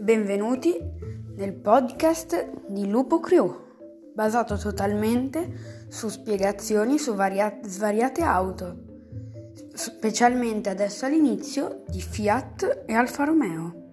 Benvenuti nel podcast di Lupo Crew, basato totalmente su spiegazioni su svariate auto, specialmente adesso all'inizio di Fiat e Alfa Romeo.